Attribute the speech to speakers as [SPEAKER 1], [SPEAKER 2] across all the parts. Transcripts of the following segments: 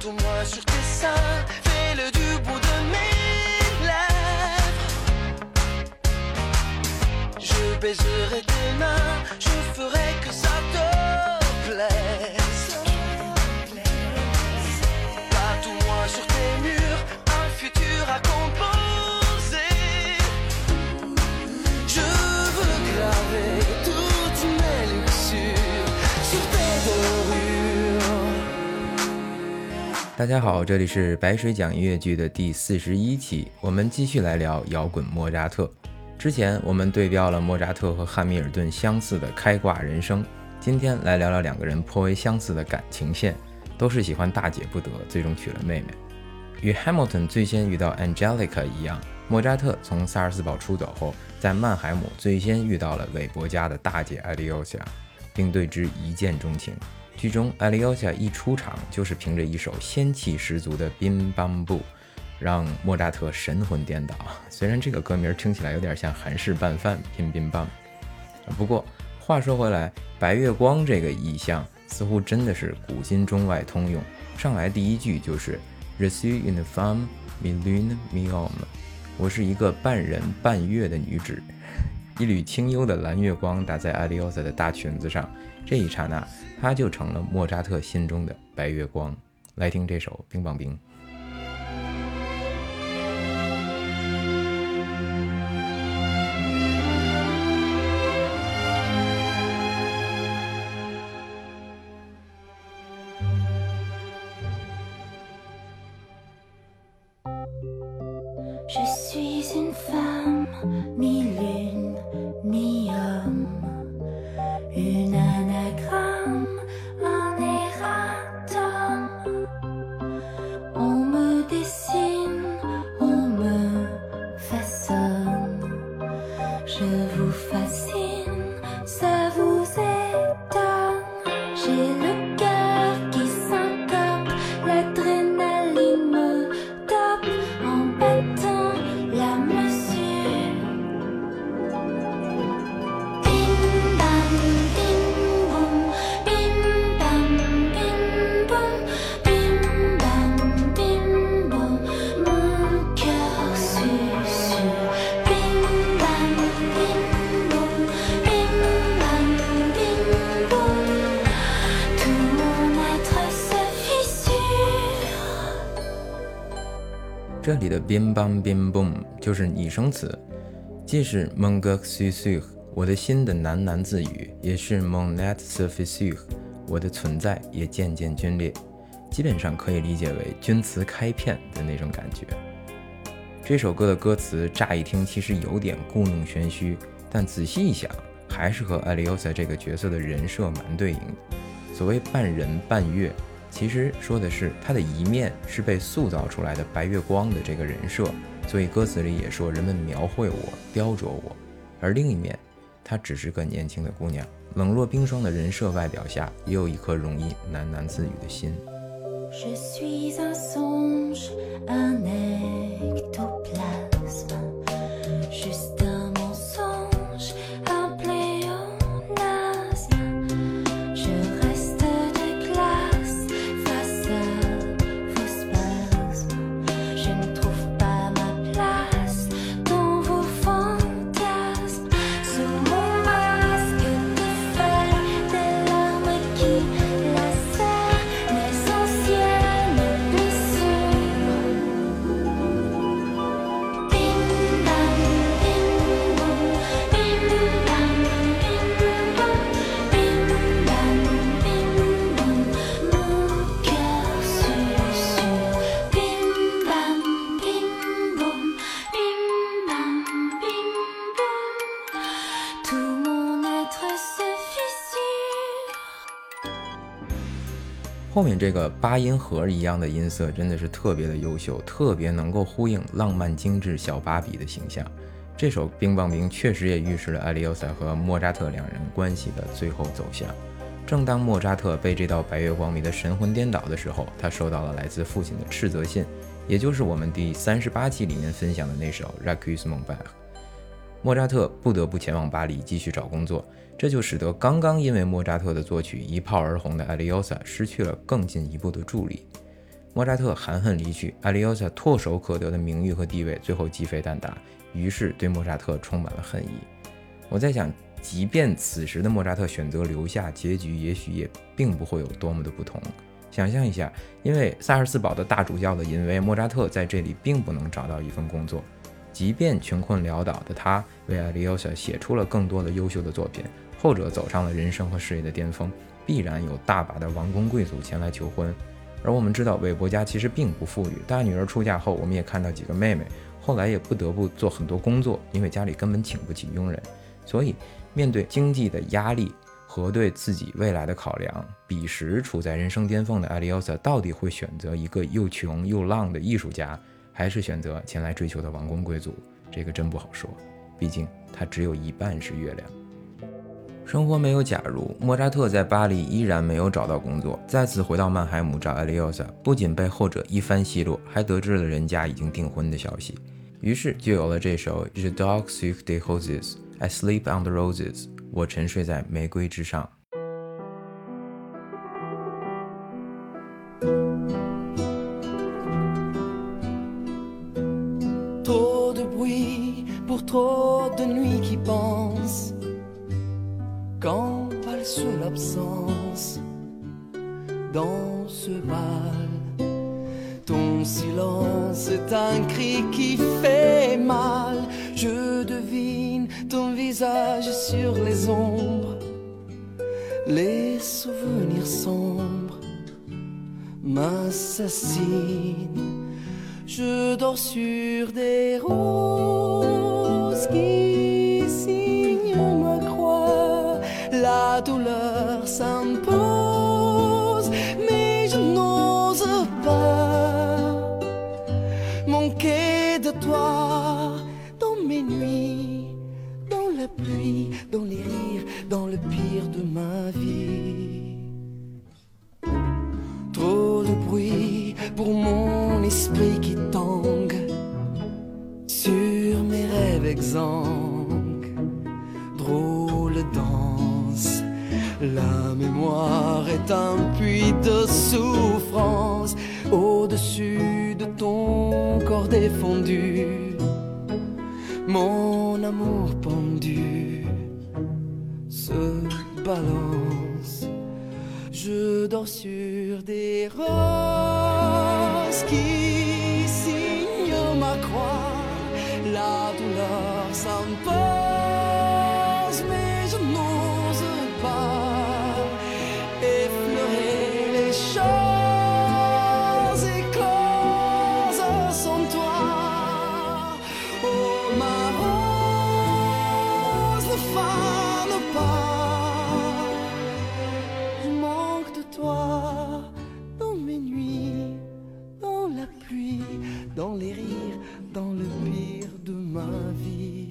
[SPEAKER 1] Partout-moi sur tes seins, fais-le du bout de mes lèvres. Je baiserai tes mains, je ferai que ça te plaise. Partout-moi sur tes murs, un futur à composer. Je veux graver toutes mes luxures sur tes dorures。
[SPEAKER 2] 大家好，这里是白水讲音乐剧的第41期，我们继续来聊摇滚莫扎特。之前我们对标了莫扎特和汉密尔顿相似的开挂人生，今天来聊聊两个人颇为相似的感情线，都是喜欢大姐不得，最终娶了妹妹。与 Hamilton 最先遇到 Angelica 一样，莫扎特从萨尔斯堡出走后，在曼海姆最先遇到了韦伯家的大姐艾利欧夏，并对之一见钟情。剧中艾利欧夏一出场就是凭着一首仙气十足的 Bim Bam Boo， 让莫扎特神魂颠倒。虽然这个歌名听起来有点像韩式拌饭 Bim Bim Bam， 不过话说回来，白月光这个意象似乎真的是古今中外通用。上来第一句就是 Je suis une femme mi-lune mi-homme， 我是一个半人半月的女子。一缕清幽的蓝月光打在艾利欧萨的大裙子上，这一刹那她就成了莫扎特心中的白月光。来听这首冰棒冰。
[SPEAKER 3] Je suis une femme, mi-lune, mi-homme, une anagramme, un erratum. On me dessine, on me façonne. Je vous fascine, ça vous étonne. J'ai le cœur qui syncope, l'adrénaline me tape en battant la mesure. Bim bam bim boum, bim bam bim boum, bim bam bim boum. Mon cœur susurre. Bim bam bim boum, bim bam bim boum. Tout mon être se fissure.
[SPEAKER 2] 这里的 bim bam bim boom 就是拟声词，既是 mon cœur susurre 我的心的喃喃自语，也是 mon être se fissure 我的存在也渐渐皲裂，基本上可以理解为钧瓷开片的那种感觉。这首歌的歌词乍一听其实有点故弄玄虚，但仔细一想还是和艾利欧萨这个角色的人设蛮对应的。所谓半人半月，其实说的是他的一面是被塑造出来的白月光的这个人设，所以歌词里也说人们描绘我雕琢我，而另一面她只是个年轻的姑娘，冷若冰霜的人设外表下也有一颗容易喃喃自语的心。
[SPEAKER 3] Je suis un songe, un ectoplasme, juste un mensonge, un pléonasme. Je reste de glace face à vos spasmes. Je ne trouve pas ma place dans vos fantasmes. Sous mon masque défait des larmes qui lacèrent mes anciennes blessures. Bim bam bim boum, bim bam bim boum, bim bam bim boum. Mon cœur susurre. Bim bam bim boum, bim bam bim boum. Tout mon être se fissure.
[SPEAKER 2] 后面这个八音盒一样的音色真的是特别的优秀，特别能够呼应浪漫精致小芭比的形象。这首冰棒冰确实也预示了艾利欧萨和莫扎特两人关系的最后走向。正当莫扎特被这道白月光迷得神魂颠倒的时候，他收到了来自父亲的斥责信，也就是我们第38期里面分享的那首 Requiem mon père。莫扎特不得不前往巴黎继续找工作，这就使得刚刚因为莫扎特的作曲一炮而红的艾利欧萨失去了更进一步的助力。 莫扎特含恨离去，阿里奥萨唾手可得的名誉和地位最后鸡飞蛋打，于是对莫扎特充满了恨意。我在想，即便此时的莫扎特选择留下，结局也许也并不会有多么的不同。想象一下，因为萨尔斯堡的大主教的淫威，莫扎特在这里并不能找到一份工作，即便穷困潦倒的他为阿里奥萨写出了更多的优秀的作品，后者走上了人生和事业的巅峰，必然有大把的王公贵族前来求婚。而我们知道韦伯家其实并不富裕，大女儿出嫁后，我们也看到几个妹妹后来也不得不做很多工作，因为家里根本请不起佣人。所以面对经济的压力和对自己未来的考量，彼时处在人生巅峰的阿里奥萨到底会选择一个又穷又浪的艺术家，还是选择前来追求的王公贵族？这个真不好说，毕竟他只有一半是月亮。生活没有假如，莫扎特在巴黎依然没有找到工作，再次回到曼海姆找阿里奥萨，不仅被后者一番奚落，还得知了人家已经订婚的消息，于是就有了这首 Je dors sur des roses, I sleep on the roses， 我沉睡在玫瑰之上。
[SPEAKER 1] Trop de bruit pour trop de nuits qui pensent, quand parle sous l'absence, dans ce bal, ton silence est un cri qui fait mal. Je devine ton visage sur les ombres, les souvenirs sombres m'assassinent. Je dors sur des roses qui signent ma croix. La douleur s'impose, mais je n'ose pas manquer de toi dans mes nuits, dans la pluie, dans les rires, dans le pire de ma vie. Trop de bruit pour mon esprit qui tangue sur mes rêves exsangues. Drôle danse, la mémoire est un puits de souffrance. Au-dessus de ton corps défendu, mon amour pendu se balance. Je dors sur des roses qui signent ma croix. La douleur s'impose, mais je n'ose pas effleurer les choses écloses sans toi. Oh ma rose, ne fane pas, je manque de toi dans mes nuits, dans la pluie, dans les rires, dans le pire de ma vie。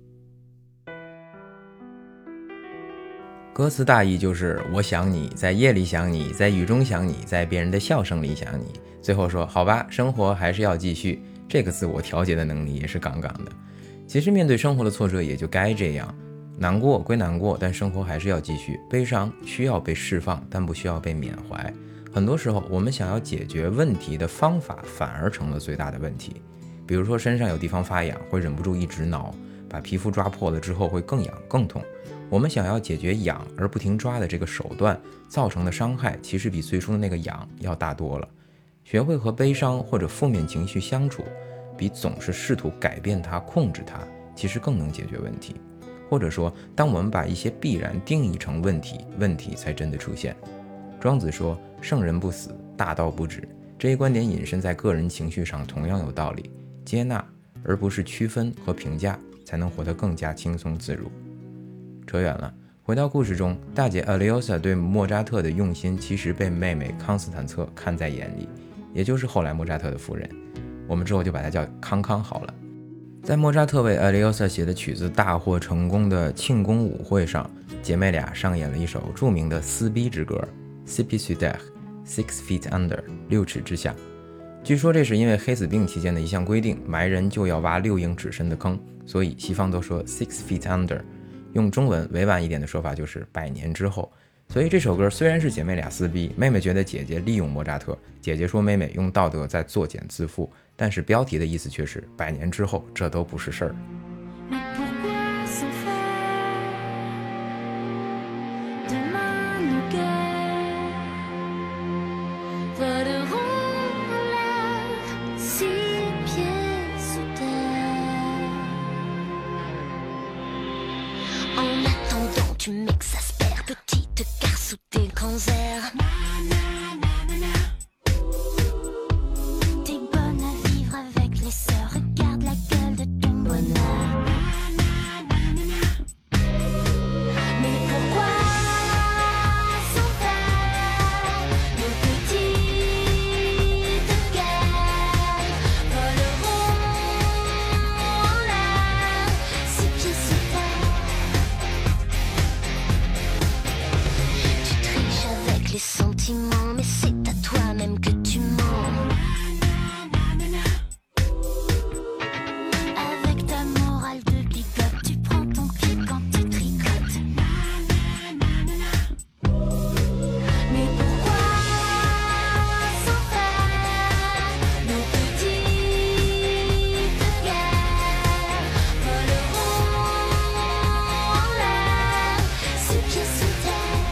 [SPEAKER 2] 歌词大意就是我想你，在夜里想你，在雨中想你，在别人的笑声里想你。最后说好吧，生活还是要继续，这个自我调节的能力也是杠杠的。其实面对生活的挫折也就该这样，难过归难过，但生活还是要继续。悲伤需要被释放，但不需要被缅怀。很多时候我们想要解决问题的方法反而成了最大的问题。比如说身上有地方发痒，会忍不住一直挠，把皮肤抓破了之后会更痒更痛。我们想要解决痒而不停抓的这个手段造成的伤害，其实比最初的那个痒要大多了。学会和悲伤或者负面情绪相处，比总是试图改变它、控制它，其实更能解决问题。或者说，当我们把一些必然定义成问题，问题才真的出现。庄子说圣人不死，大道不止，这一观点引申在个人情绪上同样有道理。接纳而不是区分和评价，才能活得更加轻松自如。扯远了，回到故事中，大姐阿里奥萨对莫扎特的用心其实被妹妹康斯坦策看在眼里，也就是后来莫扎特的夫人，我们之后就把她叫康康好了。在莫扎特为阿里奥萨写的曲子大获成功的庆功舞会上，姐妹俩上演了一首著名的撕逼之歌 Six Feet Under 6尺之下。据说这是因为黑死病期间的一项规定，埋人就要挖6英尺深的坑，所以西方都说 6 feet under， 用中文委婉一点的说法就是100年之后。 所以这首歌虽然是姐妹俩撕逼，妹妹觉得姐姐利用莫扎特，姐姐说妹妹用道德在作茧自缚，但是标题的意思却是100年之后这都不是事儿。
[SPEAKER 3] Tu m'exaspères, petite gare sous tes grands airs. T'es bonne à vivre avec les sœurs, regarde la gueule de ton bonheur. Mais pourquoi s'en faire, nos petites guerres voleront en l'air, 6 pieds sous terre. Les sentiments, mais c'est à toi-même que tu mens. Avec ta morale de bigote, tu prends ton pied quand tu tricotes. Mais pourquoi s'en faire, nos petites guerres voleront en l'air, 6 pieds sous terre.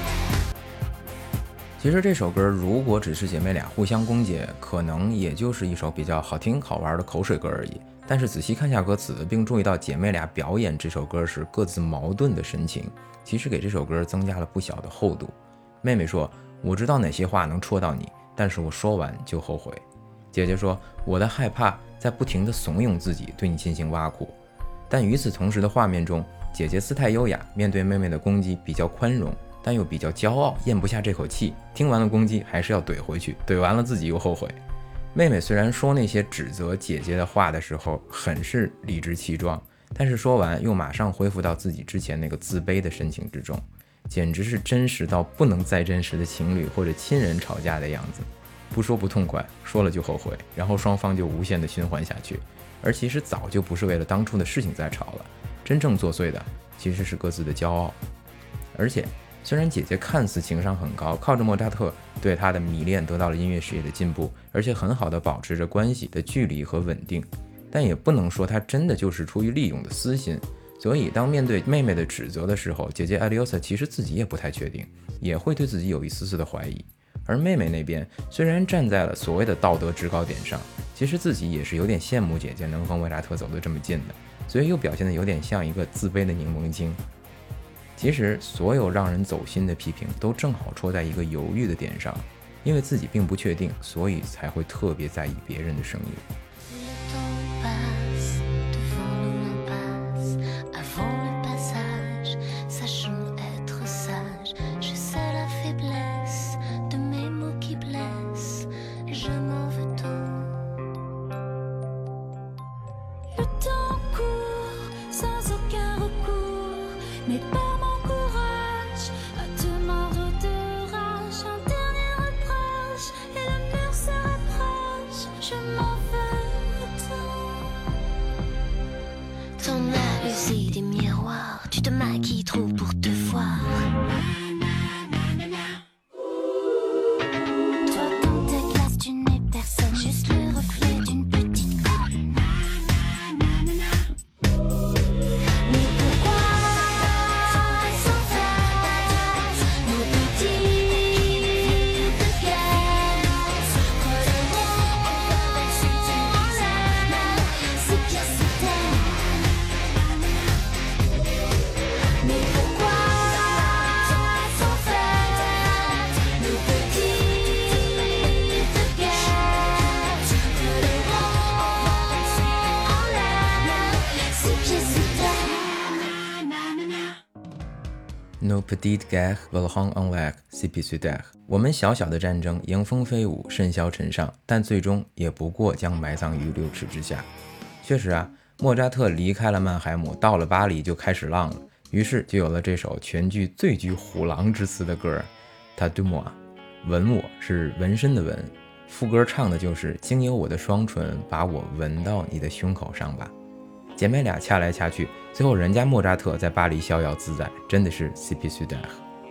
[SPEAKER 2] 其实这首歌如果只是姐妹俩互相攻讦，可能也就是一首比较好听好玩的口水歌而已。但是仔细看下歌词，并注意到姐妹俩表演这首歌时各自矛盾的神情，其实给这首歌增加了不小的厚度。妹妹说，我知道哪些话能戳到你，但是我说完就后悔。姐姐说，我的害怕在不停地怂恿自己对你进行挖苦。但与此同时的画面中，姐姐姿态优雅，面对妹妹的攻击比较宽容，但又比较骄傲，咽不下这口气，听完了攻击还是要怼回去，怼完了自己又后悔。妹妹虽然说那些指责姐姐的话的时候很是理直气壮，但是说完又马上恢复到自己之前那个自卑的神情之中，简直是真实到不能再真实的情侣或者亲人吵架的样子。不说不痛快，说了就后悔，然后双方就无限的循环下去。而其实早就不是为了当初的事情在吵了，真正作祟的其实是各自的骄傲。而且虽然姐姐看似情商很高，靠着莫扎特对她的迷恋得到了音乐事业的进步，而且很好的保持着关系的距离和稳定，但也不能说她真的就是出于利用的私心。所以当面对妹妹的指责的时候，姐姐艾利欧萨其实自己也不太确定，也会对自己有一丝丝的怀疑。而妹妹那边虽然站在了所谓的道德制高点上，其实自己也是有点羡慕姐姐能和莫扎特走得这么近的，所以又表现得有点像一个自卑的柠檬精。其实所有让人走心的批评都正好戳在一个犹豫的点上，因为自己并不确定，所以才会特别在意别人的声音。Nos petites guerres volent en l'air, si peu sur terre。我们小小的战争迎风飞舞，甚嚣尘上，但最终也不过将埋葬于6尺之下。确实啊，莫扎特离开了曼海姆，到了巴黎就开始浪了，于是就有了这首全剧最具虎狼之词的歌 Ta de moi。 吻我是纹身的纹，副歌唱的就是经由我的双唇把我纹到你的胸口上吧。姐妹俩掐来掐去，最后人家莫扎特在巴黎逍遥自在，真的是 CP 苏达。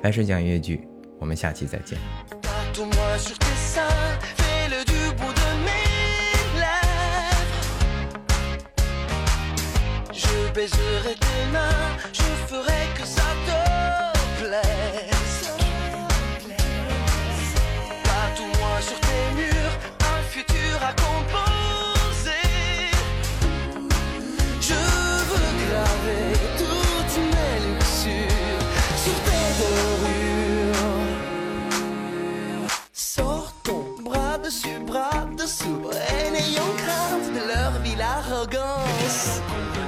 [SPEAKER 2] 白水讲音乐剧，我们下期再见。
[SPEAKER 1] Baiserai tes mains, je ferai que ça te plaise. Tatoue-moi sur tes murs un futur à composer. Je veux graver toutes mes luxures sur tes dorures. Sortons bras dessus, bras dessous, et n'ayons crainte de leur vile arrogance.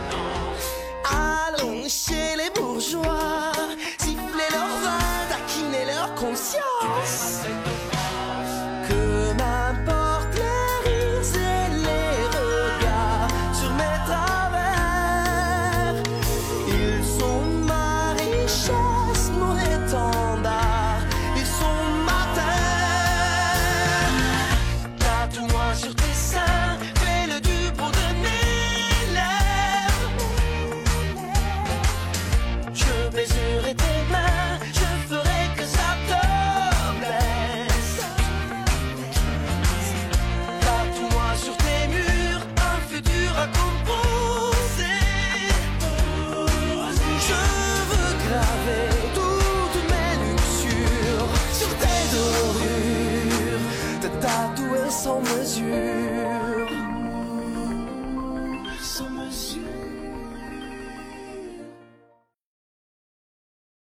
[SPEAKER 1] Allons chez les bourgeois, siffler leur vin, taquiner leur conscience. Que m'importent les rires et les regards sur mes travers. Ils sont ma richesse, mon étendard, ils sont ma terre. Tatoue-moi sur tes seins, fais-le du bout de mes lèvres. Je baiserai tes mains, je ferai que ça te plaise. Tatoue-moi sur tes murs un futur à composer. Je veux graver toutes mes luxures sur tes dorures, te tatouer sans mesure.